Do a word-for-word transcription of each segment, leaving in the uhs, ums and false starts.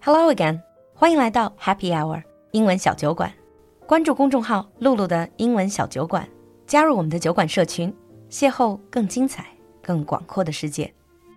Hello again， 欢迎来到 Happy Hour 英文小酒馆。关注公众号露露的英文小酒馆，加入我们的酒馆社群，邂逅更精彩、更广阔的世界。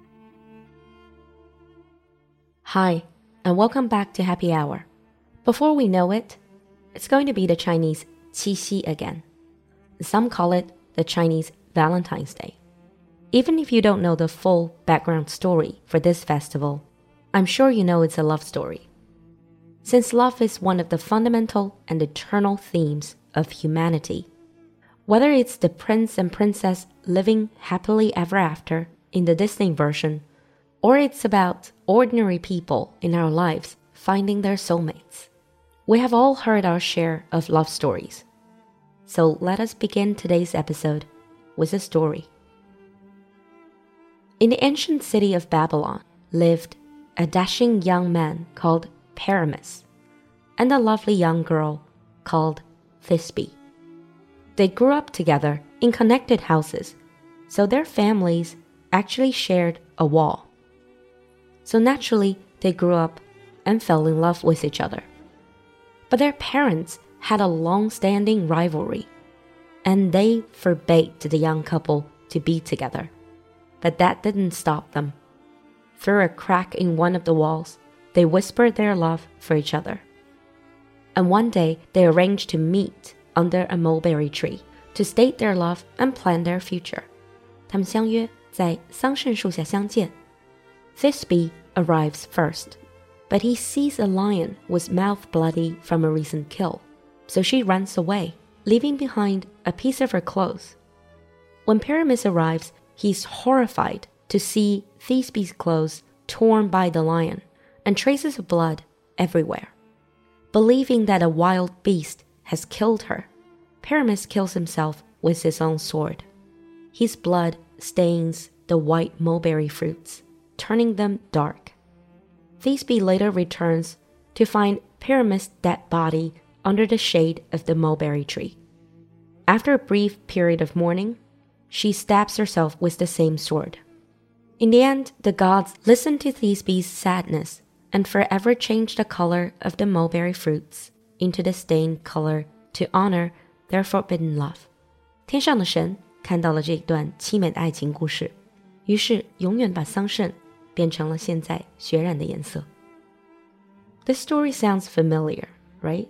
Hi, and welcome back to Happy Hour. Before we know it, it's going to be the Chinese Qixi again. Some call it the Chinese Valentine's Day. Even if you don't know the full background story for this festival, I'm sure you know it's a love story. Since love is one of the fundamental and eternal themes of humanity, whether it's the prince and princess living happily ever after in the Disney version, or it's about ordinary people in our lives finding their soulmates, we have all heard our share of love stories. So let us begin today's episode with a story. In the ancient city of Babylon lived a dashing young man called Paramus and a lovely young girl called Thisbe. They grew up together in connected houses, so their families actually shared a wall. So naturally, they grew up and fell in love with each other. But their parents had a long-standing rivalry, and they forbade the young couple to be together. But that didn't stop them. Through a crack in one of the walls, they whispered their love for each other. And one day, they arranged to meet under a mulberry tree to state their love and plan their future. 他们相约在桑葚树下相见。Thisbe arrives first, but he sees a lion with mouth bloody from a recent kill, so she runs away, leaving behind a piece of her clothes. When Paramus arrives, he's horrified to see Thisbe's clothes torn by the lion and traces of blood everywhere. Believing that a wild beast has killed her, Paramus kills himself with his own sword. His blood stains the white mulberry fruits, turning them dark. Thisbe later returns to find Paramus' dead body under the shade of the mulberry tree. After a brief period of mourning, she stabs herself with the same sword. In the end, the gods listen to Thisbe's sadness and forever change the color of the mulberry fruits into the stained color to honor their forbidden love. 天上的神看到了这段凄美的爱情故事，于是永远把桑葚变成了现在血染的颜色。This story sounds familiar, right?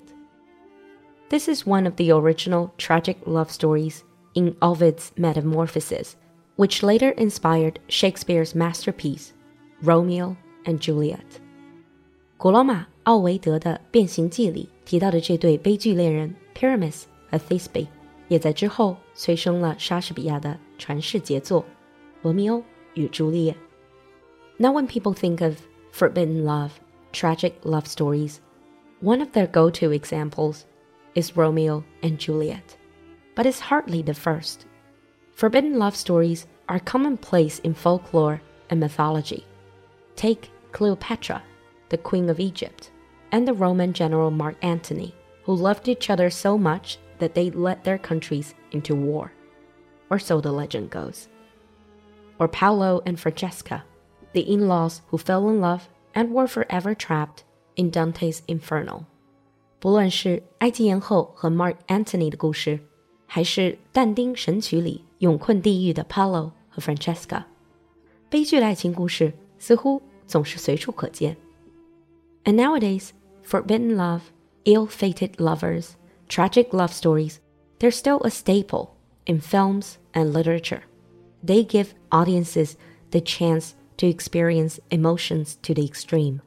This is one of the original tragic love stories in Ovid's Metamorphoses, which later inspired Shakespeare's masterpiece, Romeo and Juliet. 古罗马奥维德的《变形记》里提到的这对悲剧恋人 Paramus 和 Thisbe 也在之后催生了莎士比亚的传世杰作《罗密欧与朱丽叶》。Now when people think of forbidden love, tragic love stories, one of their go-to examples is Romeo and Juliet. But it's hardly the first. Forbidden love stories are commonplace in folklore and mythology. Take Cleopatra, the Queen of Egypt, and the Roman general Mark Antony, who loved each other so much that they led their countries into war. Or so the legend goes. Or Paolo and Francesca, the in-laws who fell in love and were forever trapped in Dante's Inferno. 不论是埃及艳后和 Mark Antony 的故事，还是但丁神曲里永困地狱的 Paolo 和 Francesca， 悲剧的爱情故事似乎总是随处可见。And nowadays, forbidden love, ill-fated lovers, tragic love stories, they're still a staple in films and literature. They give audiences the chance to experience emotions to the extreme.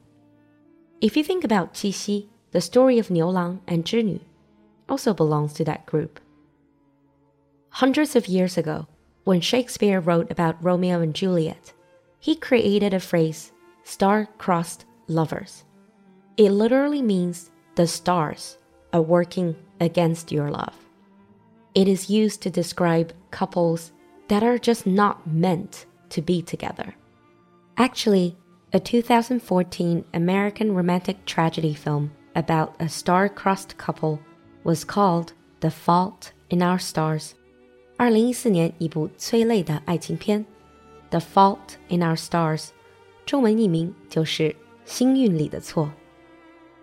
If you think about Qixi, the story of 牛郎 and 织女 also belongs to that group. Hundreds of years ago, when Shakespeare wrote about Romeo and Juliet, he created a phrase, star-crossed lovers. It literally means the stars are working against your love. It is used to describe couples that are just not meant to be together. Actually, a two thousand fourteen American romantic tragedy film about a star-crossed couple was called The Fault in Our Stars. 二零一四年一部催泪的爱情片 The Fault in Our Stars 中文译名就是《星运里的错》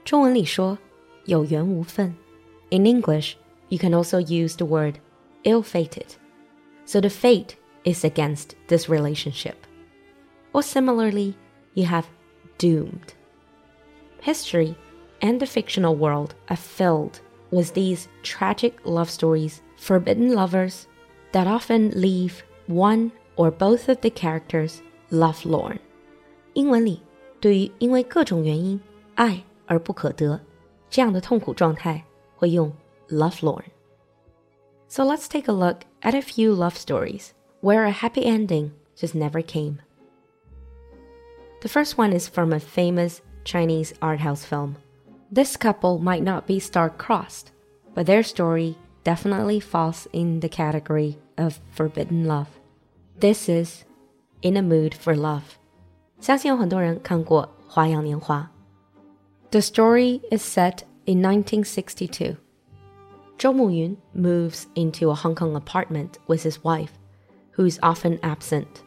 中文里说有缘无分。In English, you can also use the word ill-fated. So the fate is against this relationship. Or similarly, you have doomed. History and the fictional world are filled with these tragic love stories, forbidden lovers, that often leave one or both of the characters lovelorn. 英文里对于因为各种原因爱而不可得这样的痛苦状态会用 lovelorn. So let's take a look at a few love stories where a happy ending just never came. The first one is from a famous Chinese art house film. This couple might not be star-crossed, but their story definitely falls in the category of forbidden love. This is In a Mood for Love. 相信有很多人看过《花样年华》. The story is set in nineteen sixty-two. Zhou Muyun moves into a Hong Kong apartment with his wife, who is often absent.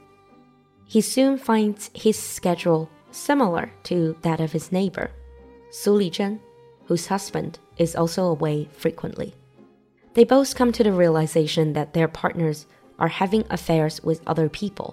He soon finds his schedule similar to that of his neighbor, Su Lizhen, whose husband is also away frequently. They both come to the realization that their partners are having affairs with other people.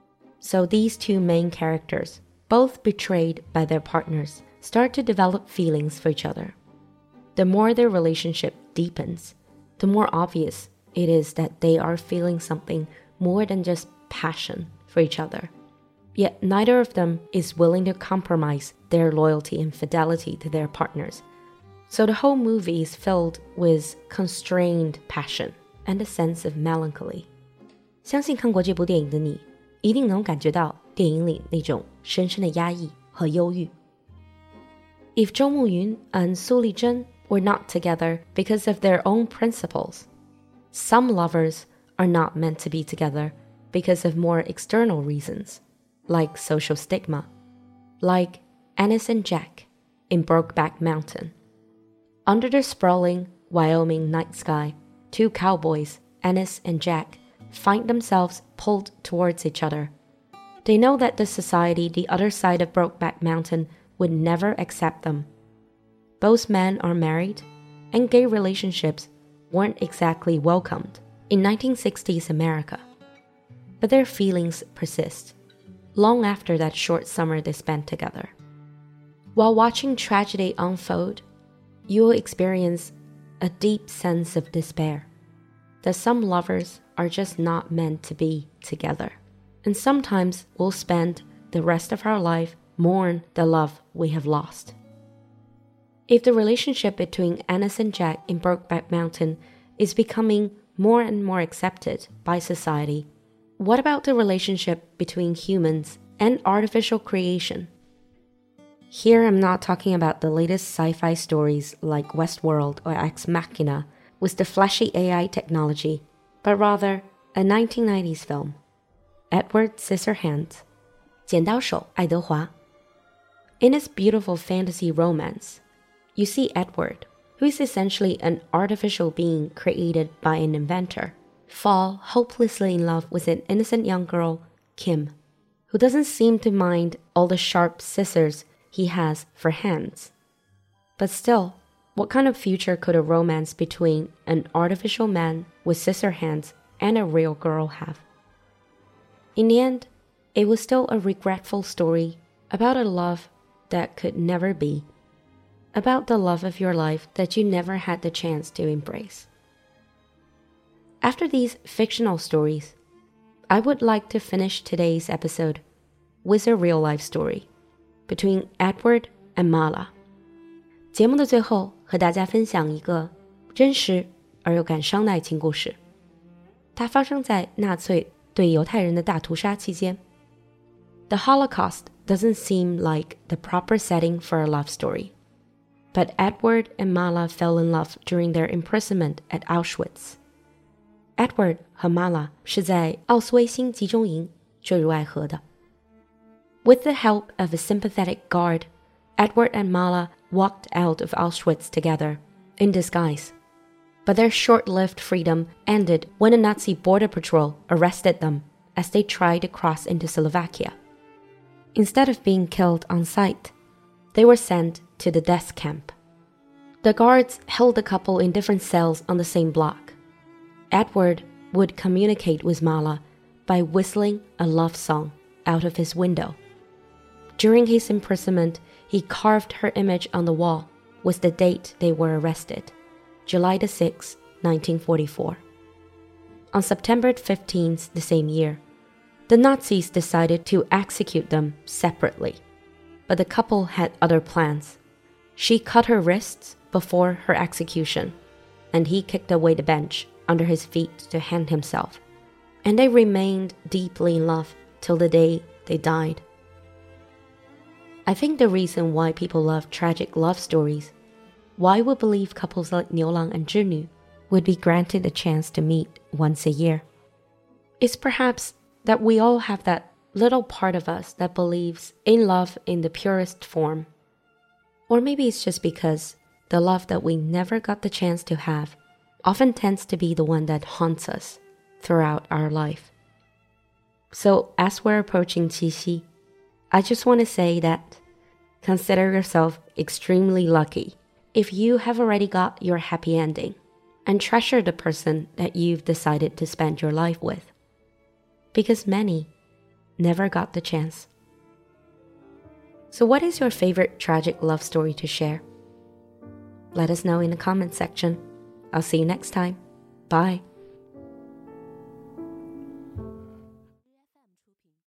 So these two main characters, both betrayed by their partners, start to develop feelings for each other. The more their relationship deepens, the more obvious it is that they are feeling something more than just passion for each other. Yet neither of them is willing to compromise their loyalty and fidelity to their partners. So the whole movie is filled with constrained passion and a sense of melancholy. 相信看过这部电影的你，一定能感觉到电影里那种深深的压抑和忧郁。If Zhou Muyun and Su Lizhen were not together because of their own principles, some lovers are not meant to be together because of more external reasons, like social stigma, like Ennis and Jack in Brokeback Mountain. Under the sprawling Wyoming night sky, two cowboys, Ennis and Jack, find themselves pulled towards each other. They know that the society the other side of Brokeback Mountain would never accept them. Both men are married, and gay relationships weren't exactly welcomed in nineteen sixties America. But their feelings persist, long after that short summer they spent together. While watching tragedy unfold, you will experience a deep sense of despair, that some lovers are just not meant to be together, and sometimes we'll spend the rest of our life mourn the love we have lost. If the relationship between Ennis and Jack in Brokeback Mountain is becoming more and more accepted by society, what about the relationship between humans and artificial creation? Here I'm not talking about the latest sci-fi stories like Westworld or Ex Machina with the flashy A I technology, but rather a nineteen nineties film, Edward Scissorhands, 剪刀手爱德华. In its beautiful fantasy romance, you see Edward, who is essentially an artificial being created by an inventor, fall hopelessly in love with an innocent young girl, Kim, who doesn't seem to mind all the sharp scissors he has for hands. But still, what kind of future could a romance between an artificial man with scissor hands and a real girl have? In the end, it was still a regretful story about a love that could never be, about the love of your life that you never had the chance to embrace. After these fictional stories, I would like to finish today's episode with a real-life story between Edward and Mala. 节目的最后，和大家分享一个真实而又感伤的爱情故事。它发生在纳粹对犹太人的大屠杀期间。The Holocaust doesn't seem like the proper setting for a love story, but Edward and Mala fell in love during their imprisonment at Auschwitz. Edward 和 Mala 是在奥斯威辛集中营坠入爱河的。With the help of a sympathetic guard, Edward and Mala walked out of Auschwitz together, in disguise. But their short-lived freedom ended when a Nazi border patrol arrested them as they tried to cross into Slovakia. Instead of being killed on sight, they were sent to the death camp. The guards held the couple in different cells on the same block. Edward would communicate with Mala by whistling a love song out of his window. During his imprisonment, he carved her image on the wall with the date they were arrested, July the sixth, nineteen forty-four. On September fifteenth the same year, the Nazis decided to execute them separately, but the couple had other plans. She cut her wrists before her execution, and he kicked away the bench under his feet to hang himself, and they remained deeply in love till the day they died. I think the reason why people love tragic love stories, why we believe couples like Niu Lang and Zhi would be granted a chance to meet once a year, is perhaps that we all have that little part of us that believes in love in the purest form. Or maybe it's just because the love that we never got the chance to have often tends to be the one that haunts us throughout our life. So as we're approaching Qixi, I just want to say that consider yourself extremely lucky if you have already got your happy ending, and treasure the person that you've decided to spend your life with, because many never got the chance. So what is your favorite tragic love story to share? Let us know in the comment section. I'll see you next time. Bye.